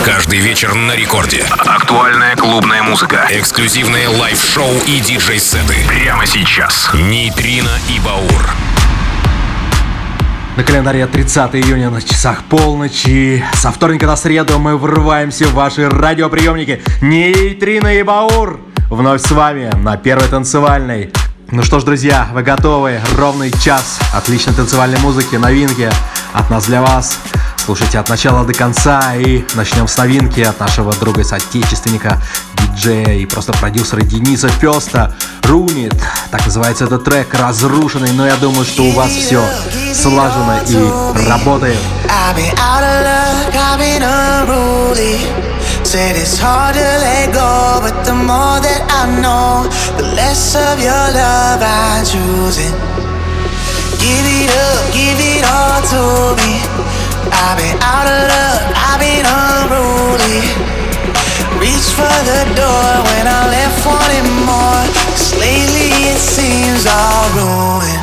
Каждый вечер на рекорде. Актуальная клубная музыка. Эксклюзивные лайв-шоу и диджей-сеты. Прямо сейчас. Нейтрино и Баур. На календаре 30 июня на часах полночи. Со вторника на среду мы врываемся в ваши радиоприемники. Нейтрино и Баур вновь с вами на Первой танцевальной. Ну что ж, друзья, вы готовы? Ровный час отличной танцевальной музыки, новинки от нас для вас. Слушайте от начала до конца, и начнем с новинки от нашего друга и соотечественника, диджея и просто продюсера Дениса Феста. Рунит, так называется этот трек, разрушенный, но я думаю, что у вас все слажено и работает. Said it's hard to let go, but the more that I know, the less of your love I choose it. Give it up, give it all to me. I've been out of luck, I've been unruly. Reach for the door when I left wanting more, 'cause lately it seems all ruined.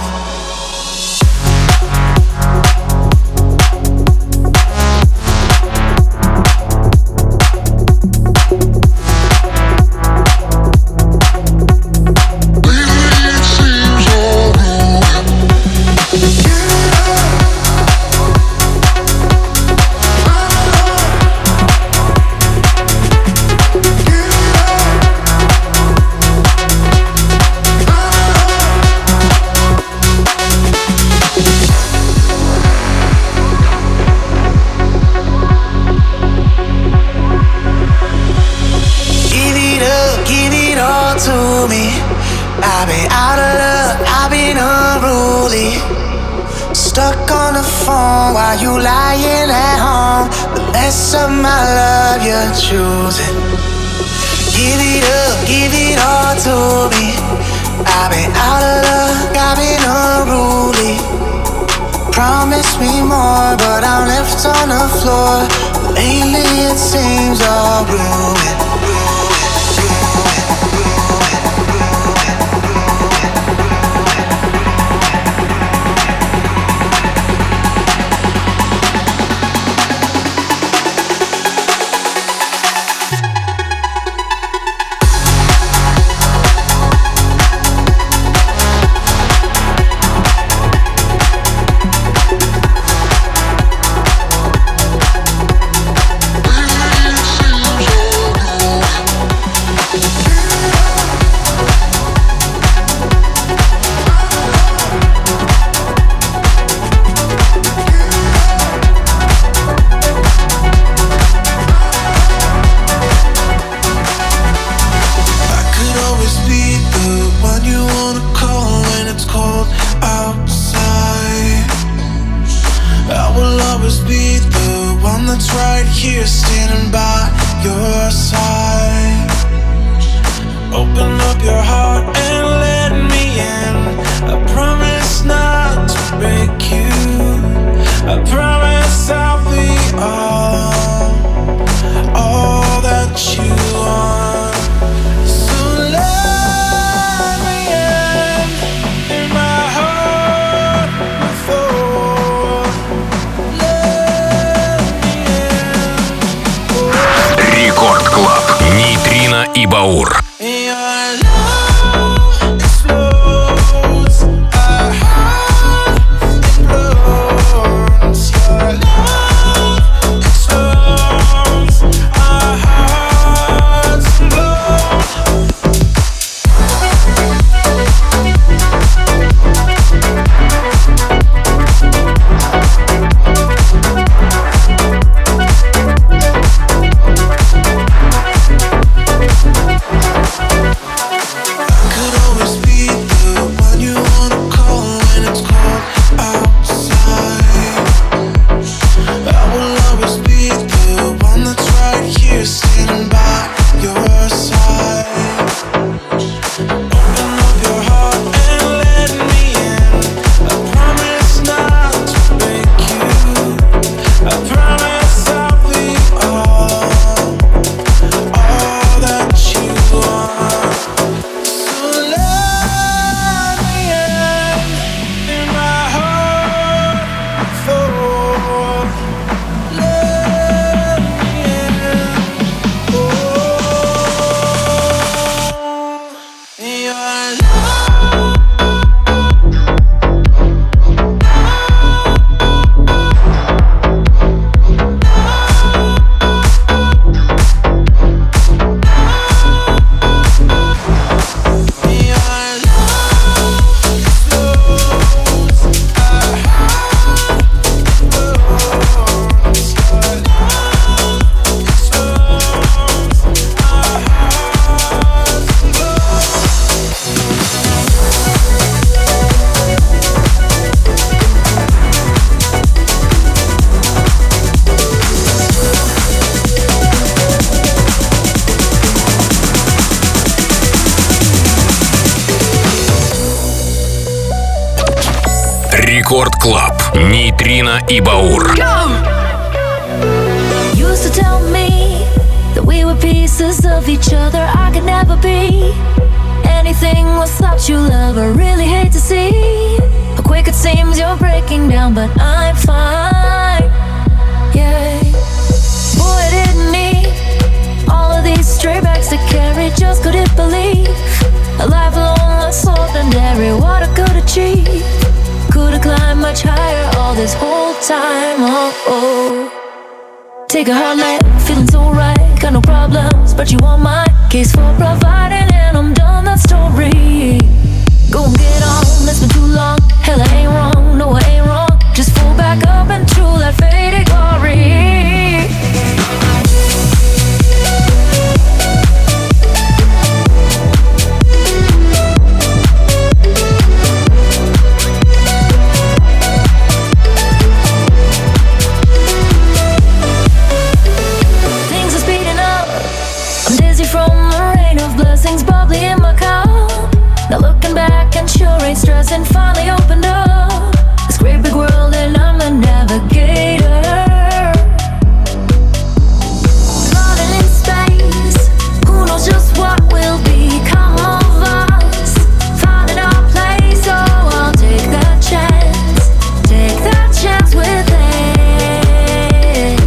I've been out of luck, I've been unruly. Stuck on the phone while you lying at home. The less of my love you're choosing. Give it up, give it all to me. I've been out of luck, I've been unruly. Promise me more, but I'm left on the floor. Lately it seems all ruined. И Баур. Рекорд Клаб. Нейтрино и Баур. Used to tell me that we were pieces of each other. I could never be anything without you, love. I really hate to see how quick it seems you're breaking down, but I'm fine. Yeah. Boy, I didn't need all of these stray bags to carry. Just couldn't believe a life alone was ordinary. What I could achieve, could've climbed much higher all this whole time. Oh. Take a hard night, feeling so right. Got no problems, but you want my case for providing, and I'm done that story. Go and get on, it's been too long. Hell, I ain't wrong, no I ain't wrong. Just fall back up into that faded glory. Bubbly in my cup. Now looking back and sure ain't stressing. Finally opened up this great big world and I'm the navigator. Running in space, who knows just what will become of us. Finding our place, so I'll take that chance with it.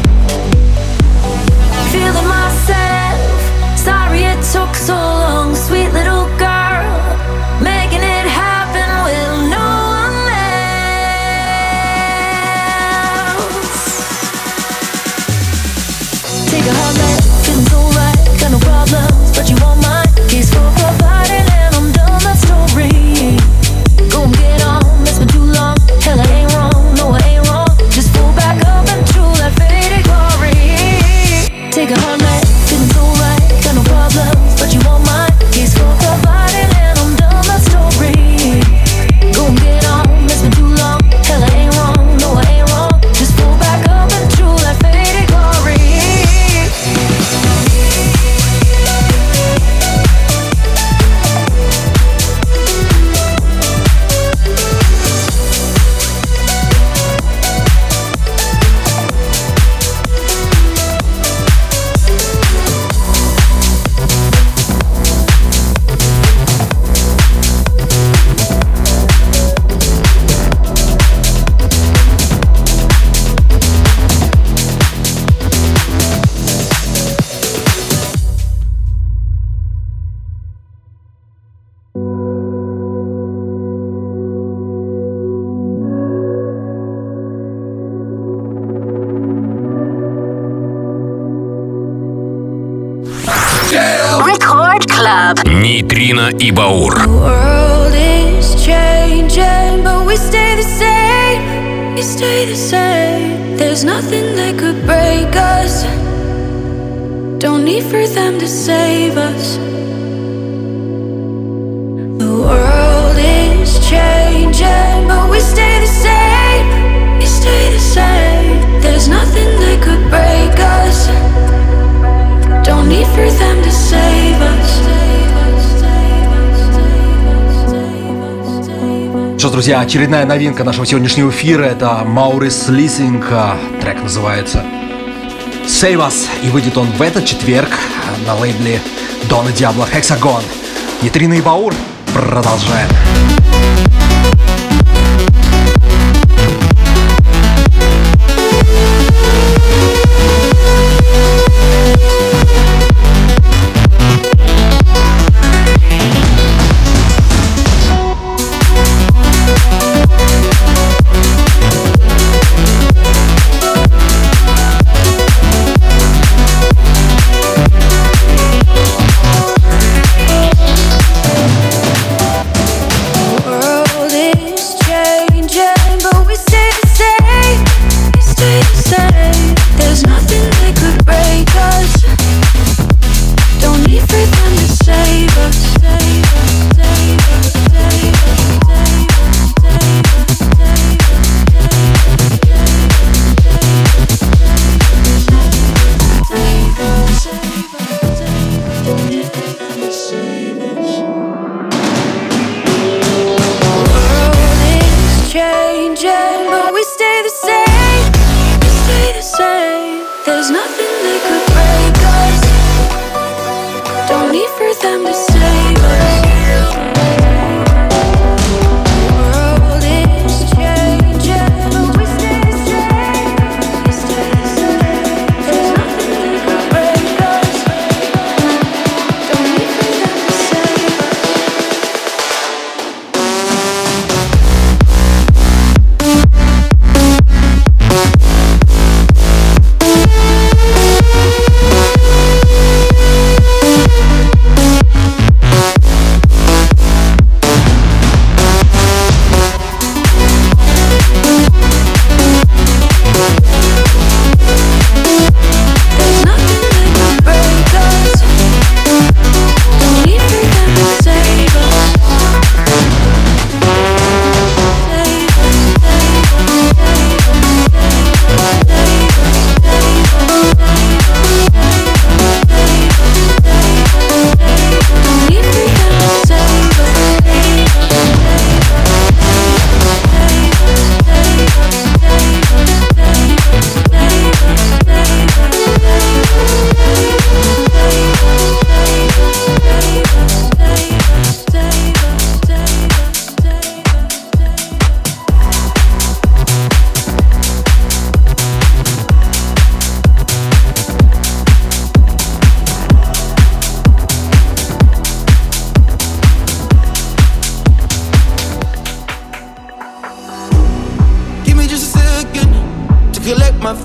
Feeling myself, sorry it took so long, sweet little girl, making it happen with no one else. Take a hard night, feeling so right, got no problems, but you want my case for providing, and I'm done that story. Go and get on, it's been too long. Hell, I ain't wrong, no I ain't wrong. Just fall back up into that faded glory. Take a hard night, feeling so right, got no problems, but you want my case for providing, and I'm done that story. Go and get on, it's been too long. Hell, I ain't wrong, no I ain't wrong. Just fall back up into that faded glory. Record Club. Нейтрино и Баур. The world is changing, but we stay the same. We stay the same. There's nothing that could break us. Don't need for them to save us. The world is changing, but we stay the same. We stay the same. There's nothing that could break us. Don't need for them to save us. Что ж, друзья, очередная новинка нашего сегодняшнего эфира. Это Маурис Лисинг. Трек называется Save Us. И выйдет он в этот четверг на лейбле Дона Диабло Hexagon. Нейтрино и Баур. Продолжаем.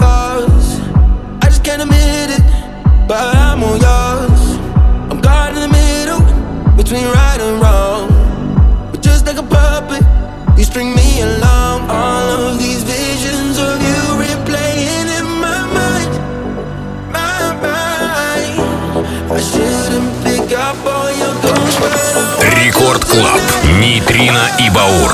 yours. I just can't admit it, but I'm all yours. I'm caught in the middle between right and wrong. But just like a puppet, you string me along. All of these visions of you replaying in my mind, my mind. I shouldn't pick up all your ghosts, but Рекорд Клаб. Нейтрино и Баур.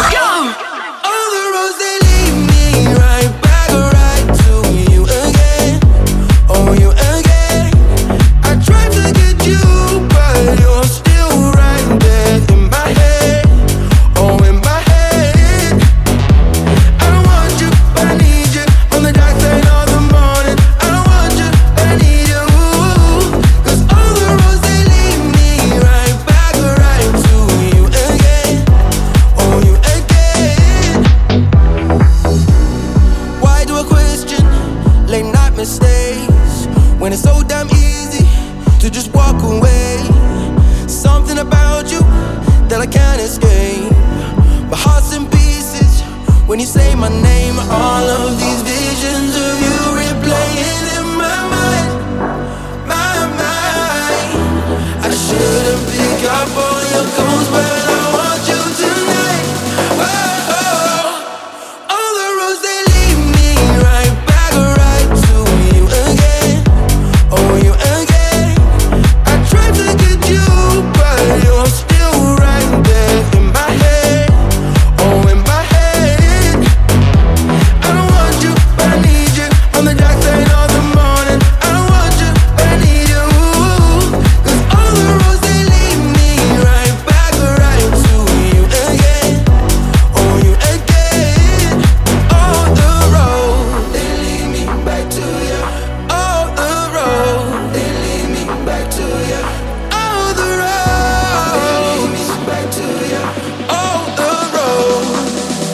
When it's so damn easy to just walk away. Something about you that I can't escape. My heart's in pieces when you say my name. All of these visions of you replaying in my mind, my mind. I shouldn't pick up all your calls, but I want you tonight. Oh, oh. All the roads they lead me right back, right to you again. Oh, you again. I tried to get you, but you're still right there in my head. Oh, in my head. I don't want you, but I need you. On the dark side of the morning. I don't want you, but I need you. 'Cause all the roads they lead me right back, right to you again. Oh, you again. All the roads they lead me back to you. All the roads they lead me back to you. All the roads they lead me back to you. All the roads.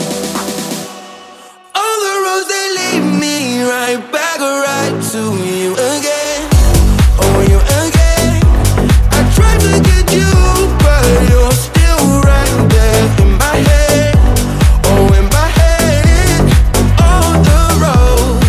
All the roads they lead me right back, right to you again. Oh, you again. I tried to get you, but you're still right there in my head. Oh, in my head. All the roads.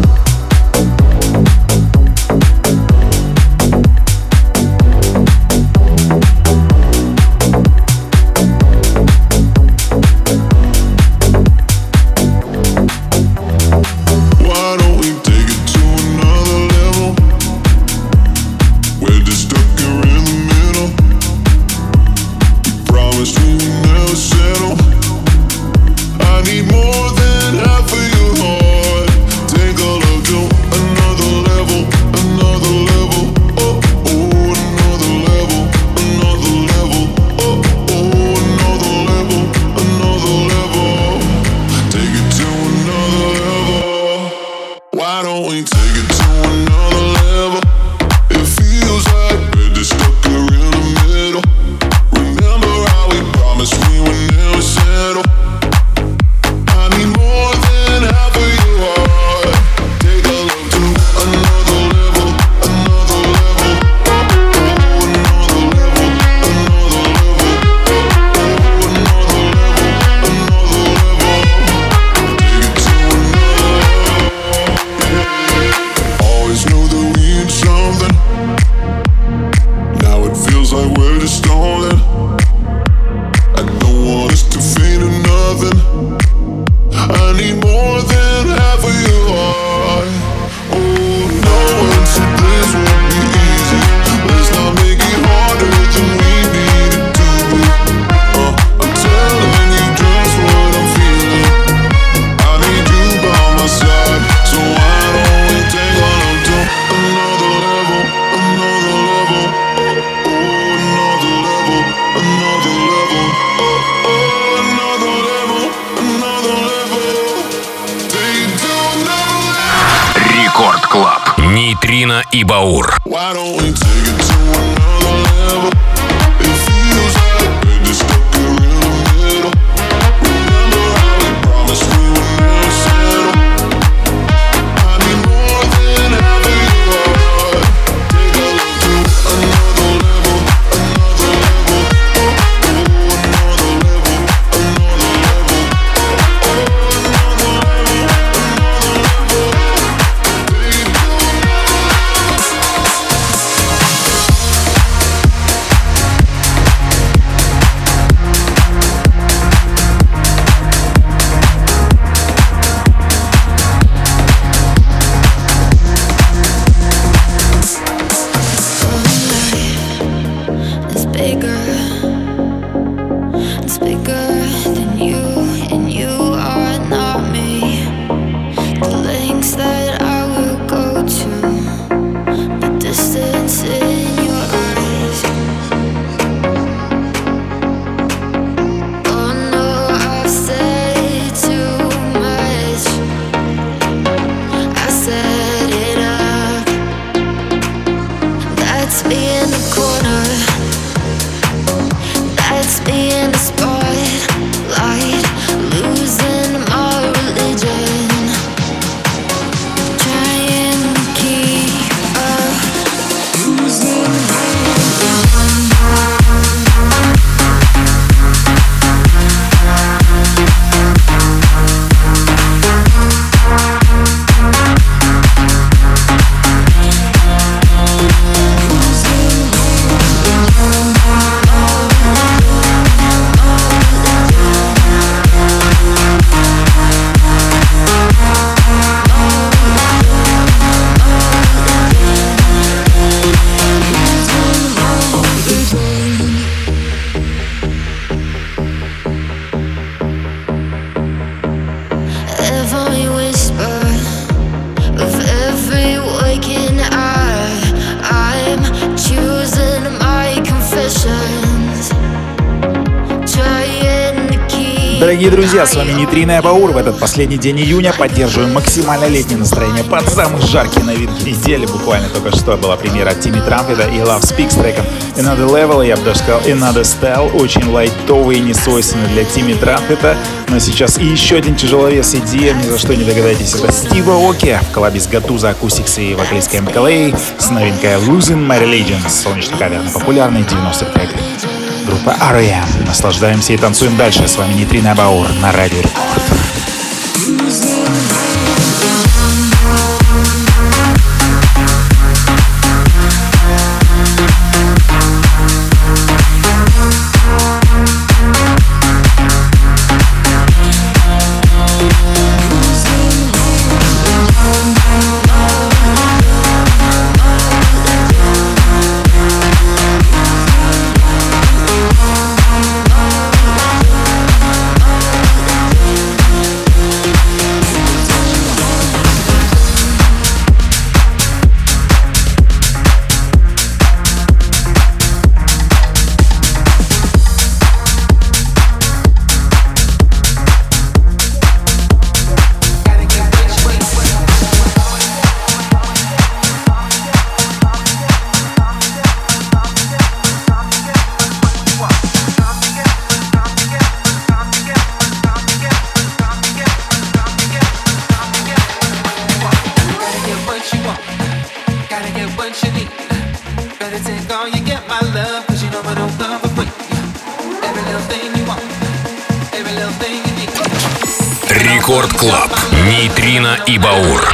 Why don't we take it to another level? We're just stuck here in the middle. We promised we would never settle. I need more than half of your heart. Take a look to another level, another level. Oh, oh, another level, another level. Oh, oh, another level, another level. Take it to another level. Why don't we take it to another level? It feels like we're just stuck here in the middle. Remember how we promised we would never settle. I need more than half of your heart. Take a look to another level, another level. Oh, another level, another level. Oh, another level, another level. Take it to another level. Always knew that we had something. Now it feels like we're just stalling. I don't want us to fade to nothing. I need more than half of your heart. Oh no, one said this won't be easy. Let's not make it harder than we need it to be. I'm telling you just what I'm feeling. I need you by my side. So why don't we take one up to another level, another level. Oh, another level, another level. Oh, another level, another level. Take it to another level. Рекорд Клаб. Нейтрино и Баур. Why don't we take it to another level? It feels like we're just stuck here in the middle. Remember how we promised we would never settle. I need more than half of your heart. Take a look to another level, another level. Oh, another level, another level. Oh, another level, another level. Дорогие друзья, с вами Нейтрино и Баур. В этот последний день июня поддерживаем максимально летнее настроение под самые жаркие новинки недели. Буквально только что была премьера от Тимми Трампета и Love Speak с треком Another Level, я бы даже сказал Another Style. Очень лайтовый и несвойственный для Тимми Трампета. Но сейчас и еще один тяжеловес EDM, ни за что не догадаетесь. Это Стив Аоки в коллабе с Гатуза Acoustics и вокалисткой МКЛА с новинкой Losing My Religion. Солнечный кавер на популярный 90-х трек. Группа R.E.M. Наслаждаемся и танцуем дальше. С вами Нейтрино и Баур на Радио Рекорд. Рекорд Клаб. Нейтрино и Баур.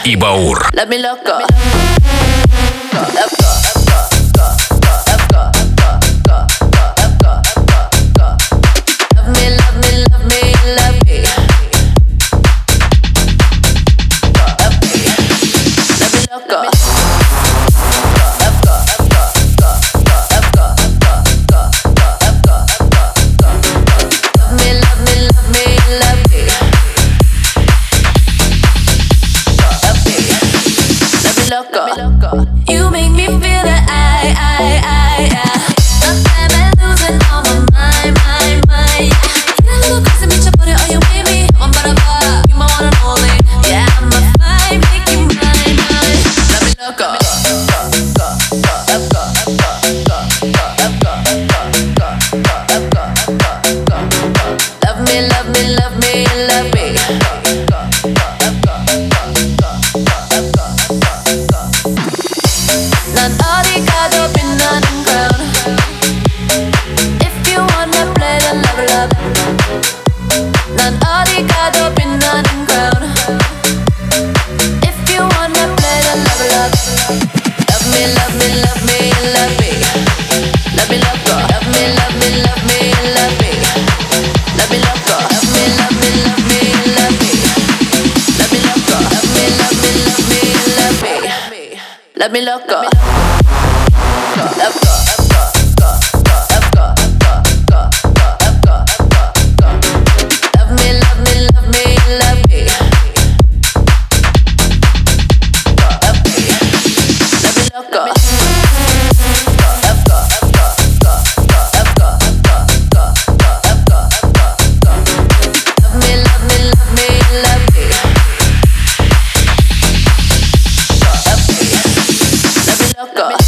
и Баур. Let me look up. You make me feel that I I'm losing all my mind. Get a little crazy, meet your body, are you with me? I'm about to pop, you my one and only. Yeah, I'm a fine, make you mine. Let me look up. Love me. 난 어디가도 빛나는 crown. If you wanna play the love. 난 어디가도 빛나는 crown. If you wanna play the love. Love me. Let me look up. Let me look up. Let me look up. Let me look up. Go.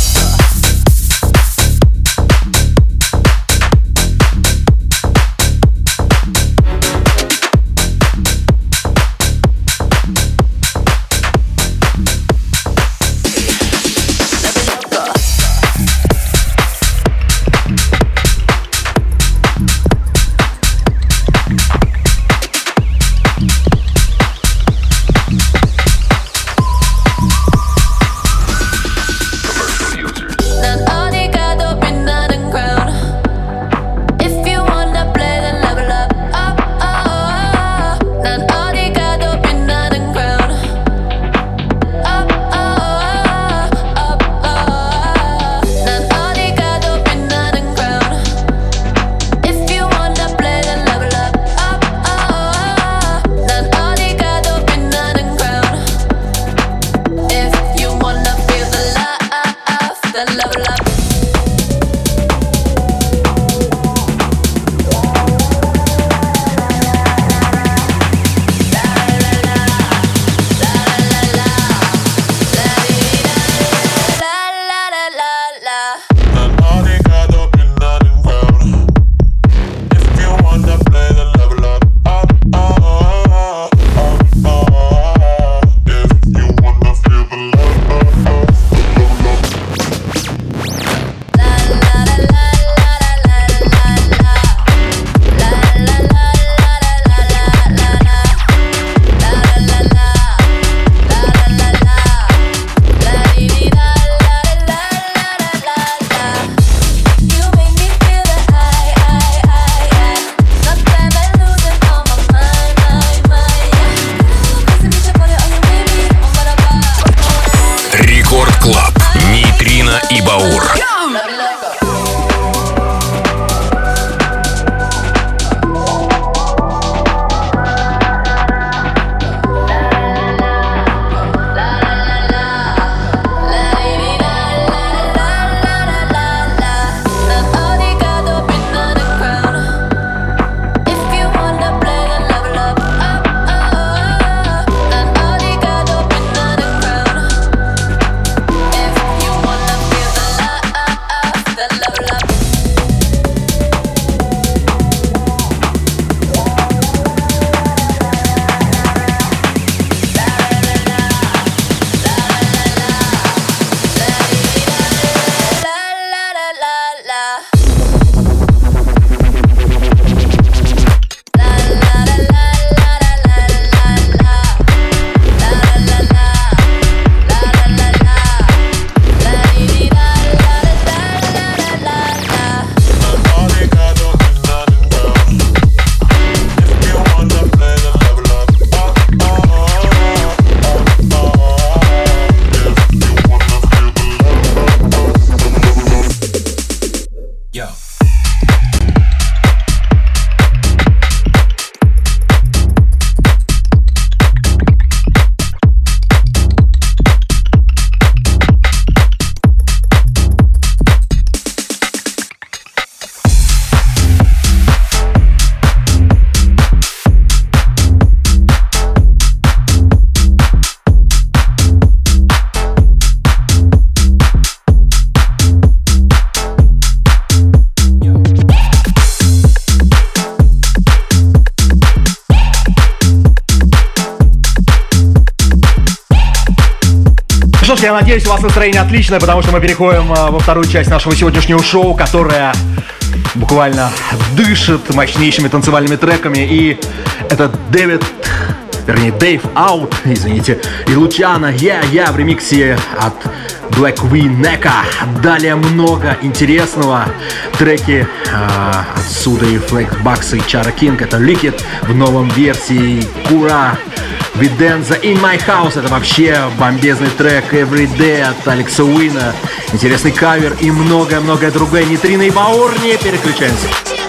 что ж, я надеюсь, у вас настроение отличное, потому что мы переходим во вторую часть нашего сегодняшнего шоу, которая буквально дышит мощнейшими танцевальными треками. И это Дэйв Аут, извините, и Лучано Я в ремиксе от Black Neka. Далее много интересного. Треки отсюда и Flexbox, и Chara King. Это Liquid в новом версии. Кура, Виденза, In My House. Это вообще бомбезный трек. Everyday от Алекса Уина. Интересный кавер и многое-многое другое. Нейтрино и Баур, не переключаемся.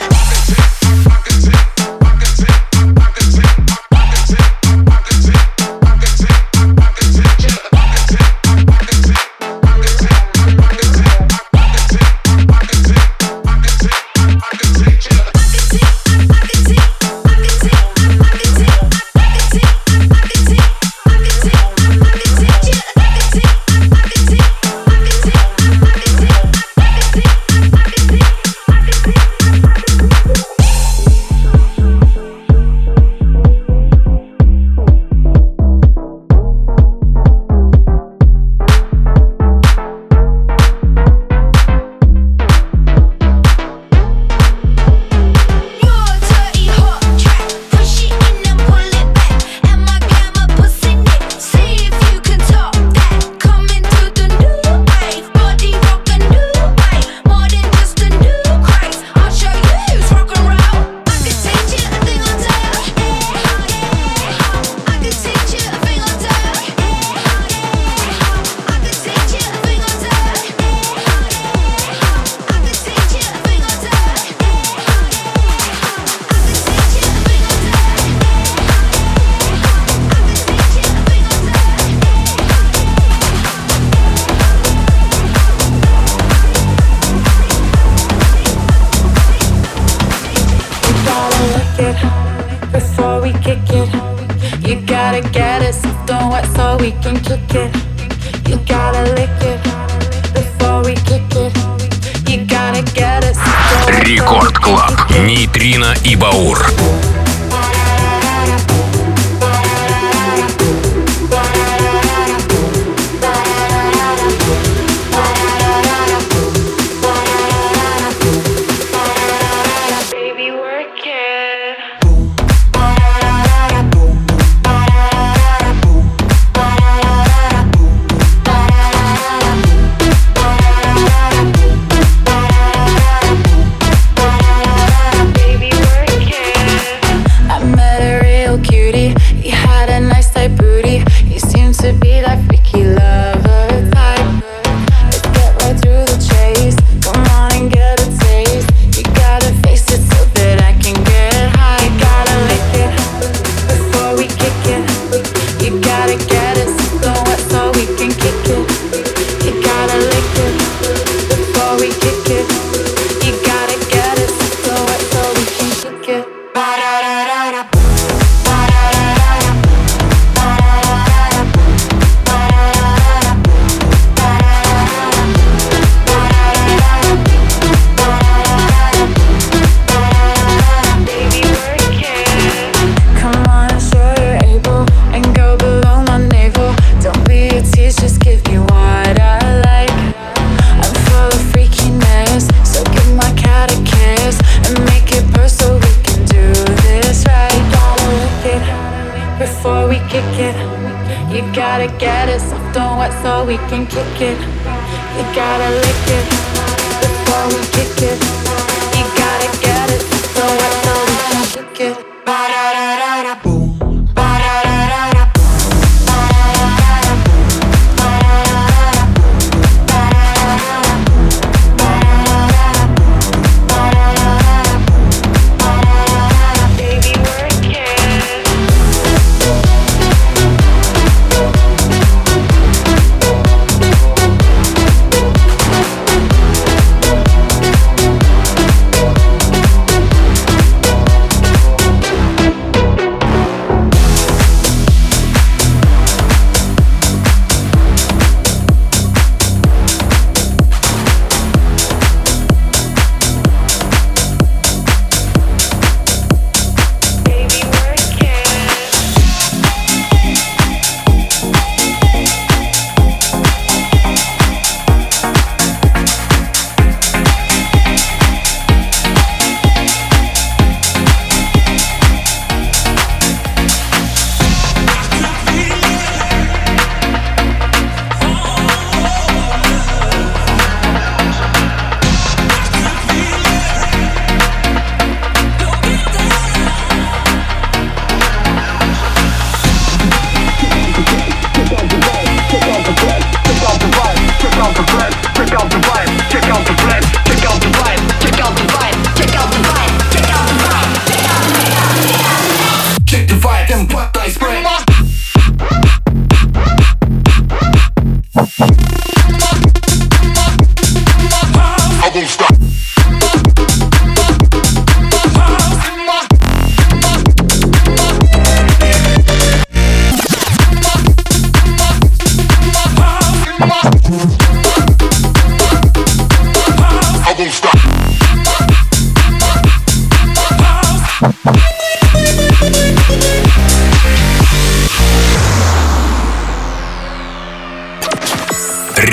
Рекорд Клаб. Нейтрино и Баур.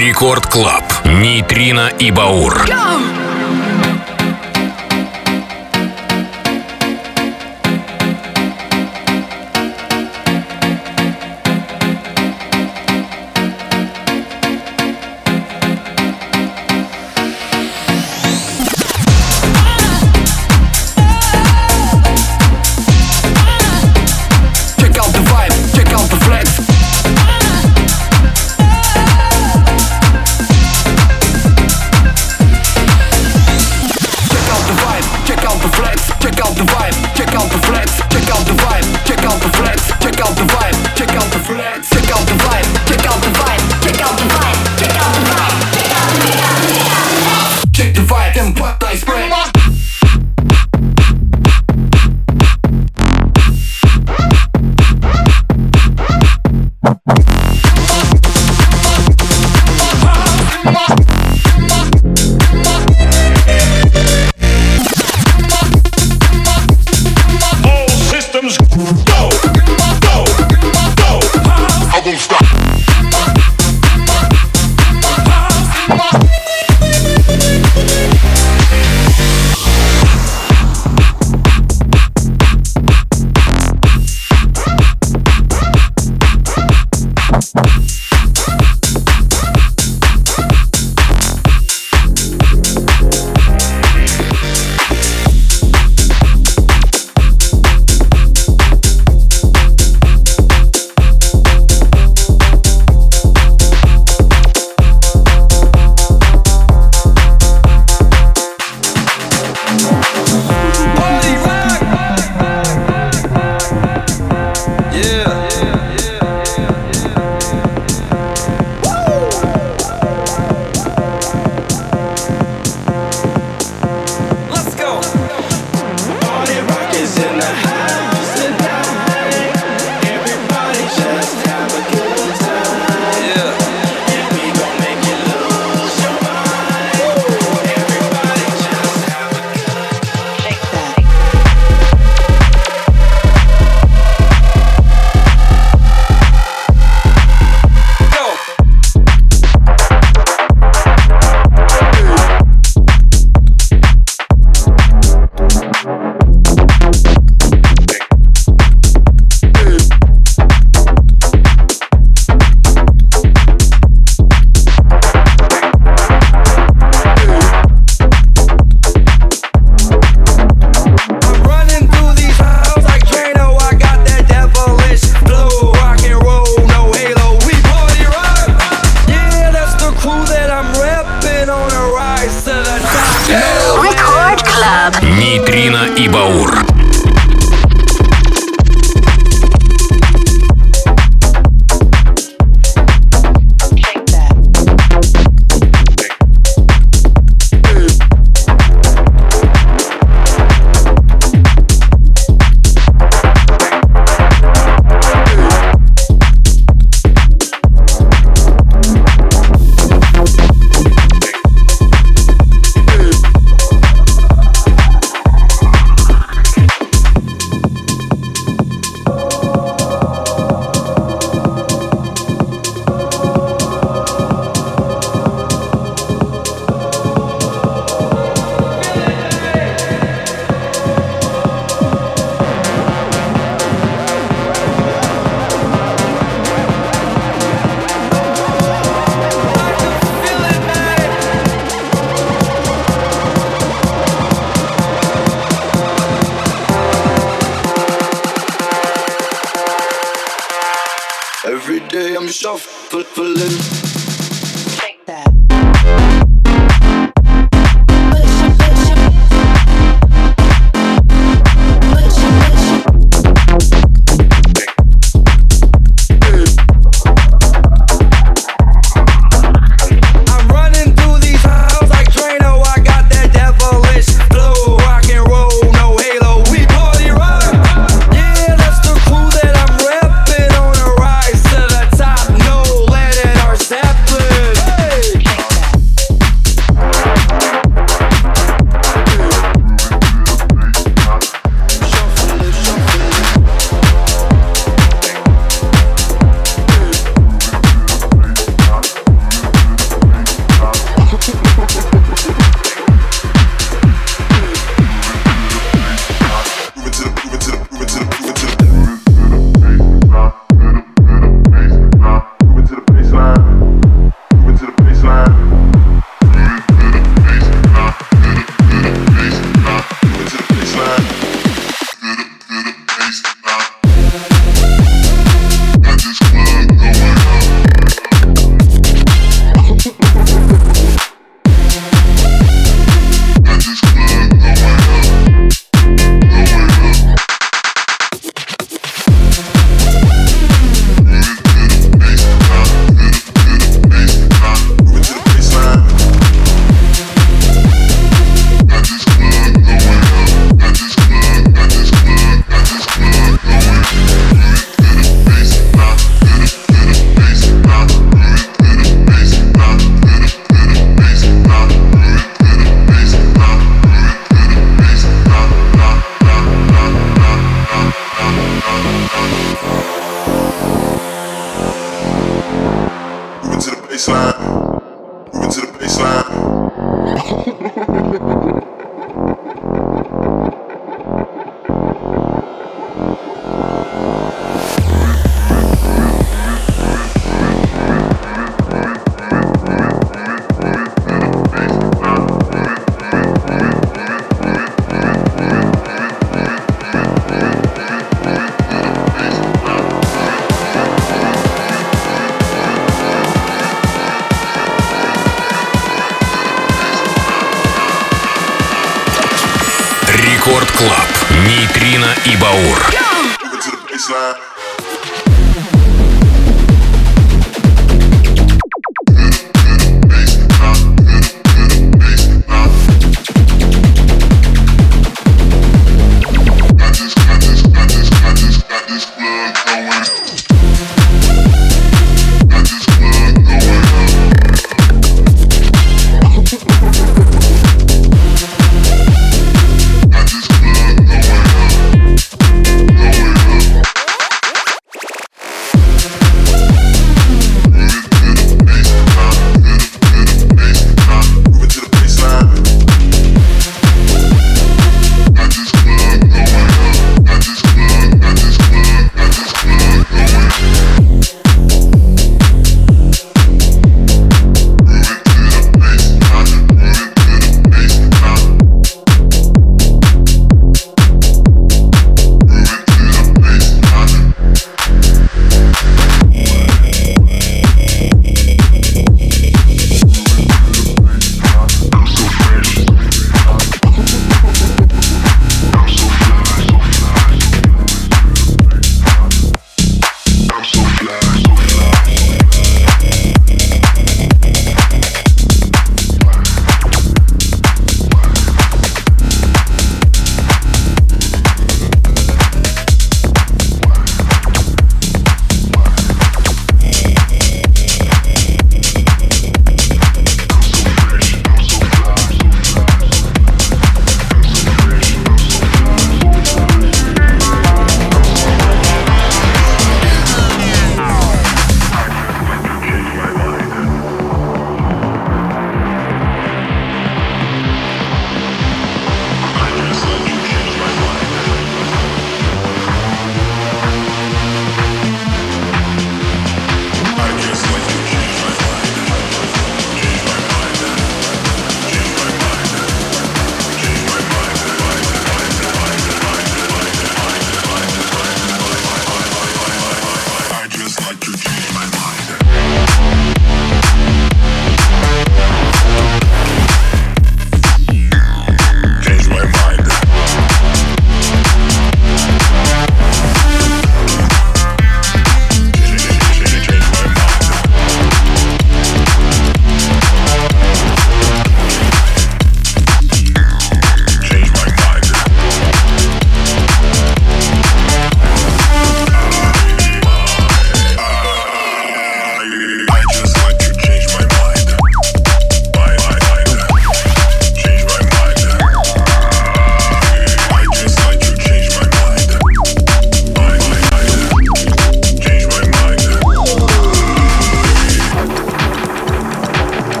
Рекорд Клаб. Нейтрино и Баур. Нейтрино и Баур. Every day I'm shuffling. Shake that. Step Рекорд Клаб. Нейтрино и Баур.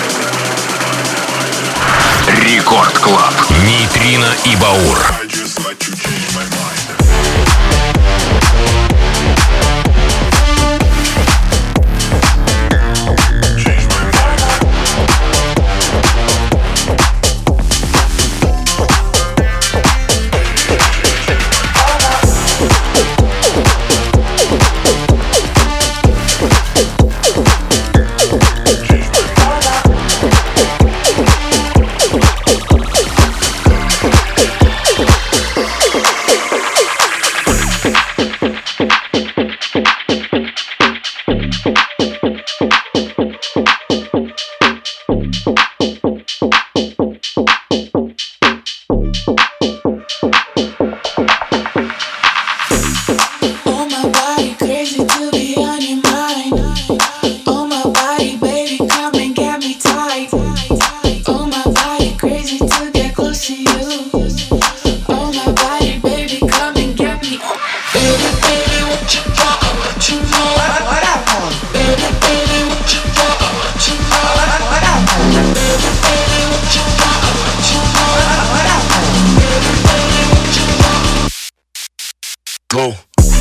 Рекорд Клаб. Нейтрино и Баур. Go.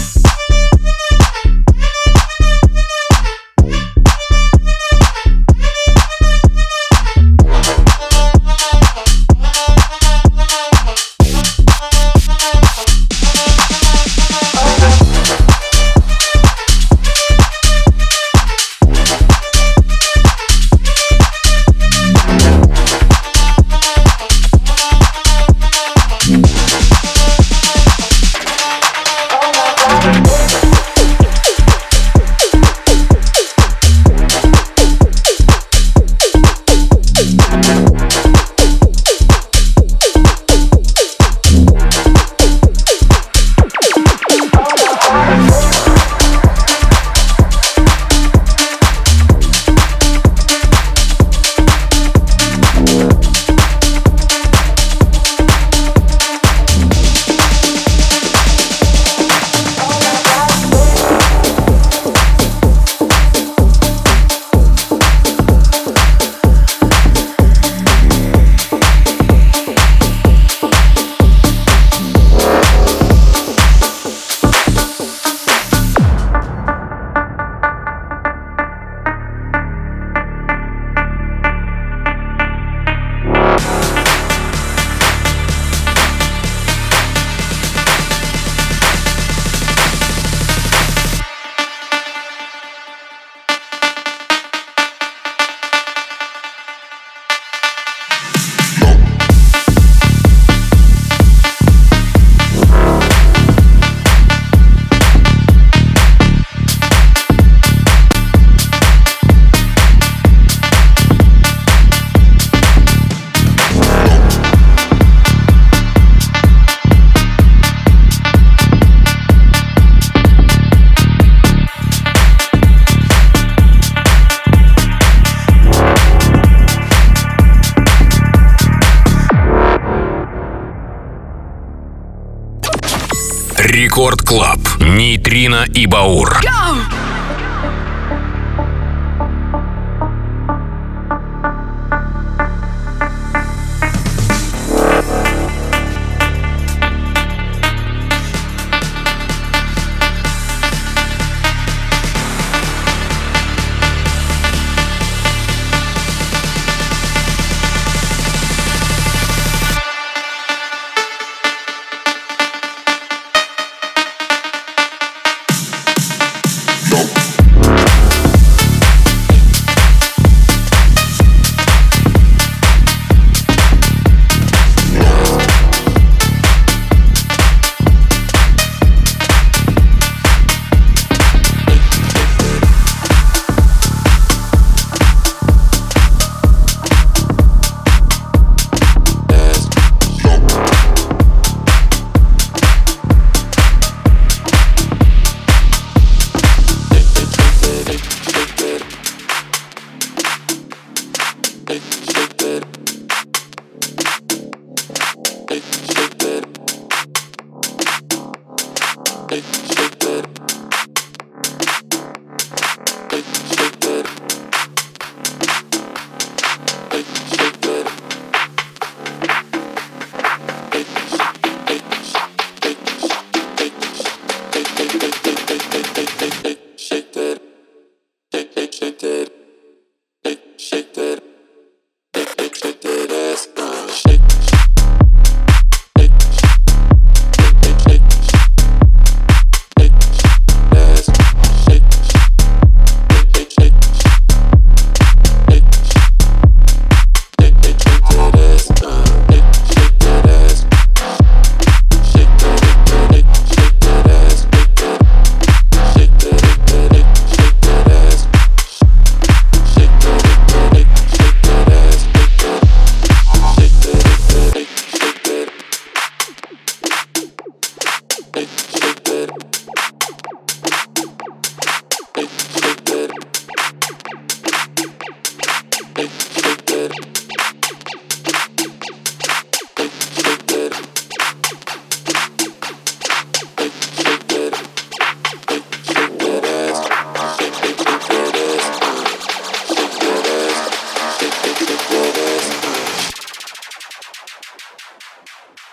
Рекорд Клаб. Нейтрино и Баур.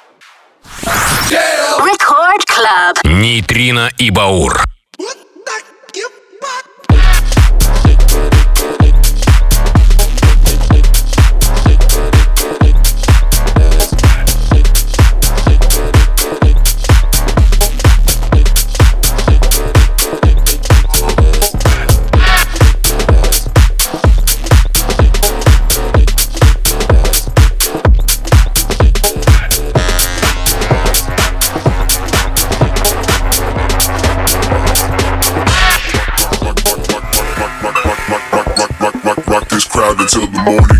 Record Club. Нейтрино и Баур. Until the morning.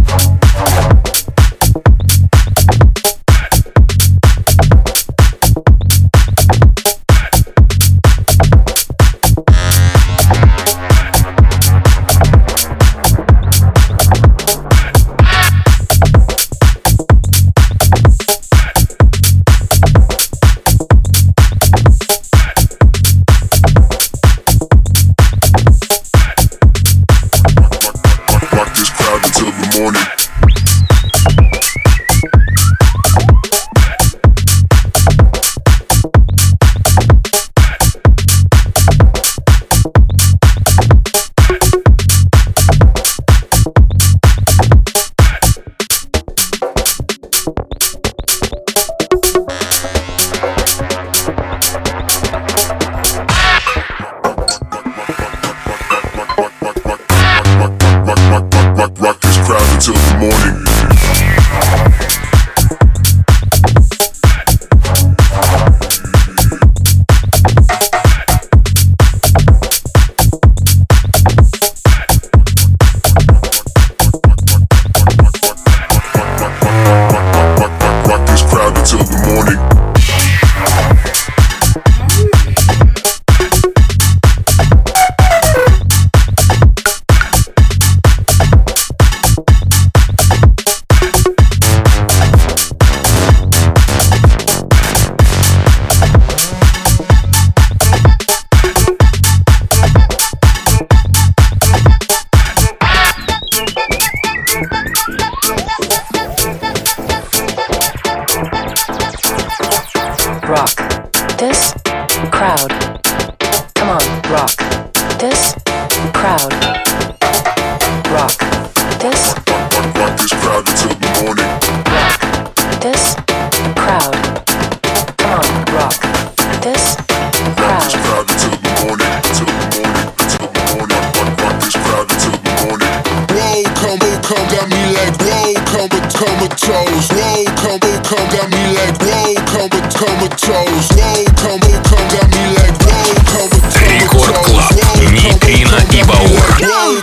Рекорд Клаб. Нейтрино и Баур.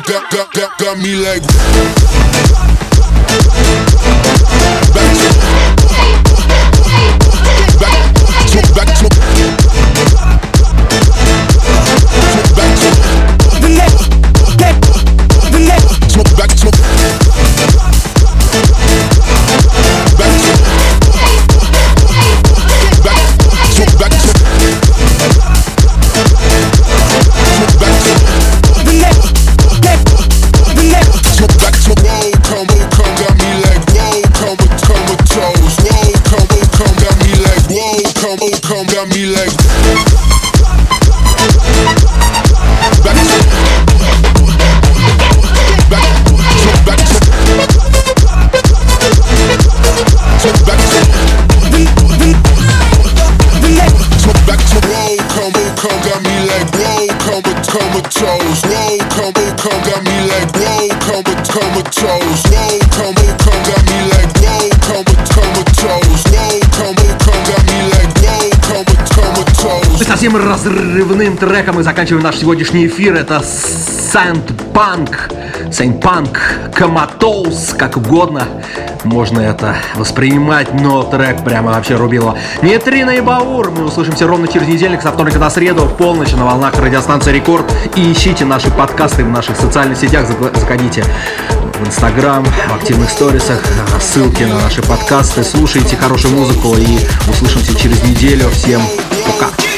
Got me like Совсем разрывным треком мы заканчиваем наш сегодняшний эфир. Это Saint Punk, Comatose, как угодно можно это воспринимать, но трек прямо вообще рубило. Нейтрино и Баур. Мы услышимся ровно через недельник, со вторника на среду в полночь на волнах радиостанции Рекорд. И ищите наши подкасты в наших социальных сетях. Заходите в Инстаграм, в активных сторисах, ссылки на наши подкасты. Слушайте хорошую музыку и услышимся через неделю. Всем пока.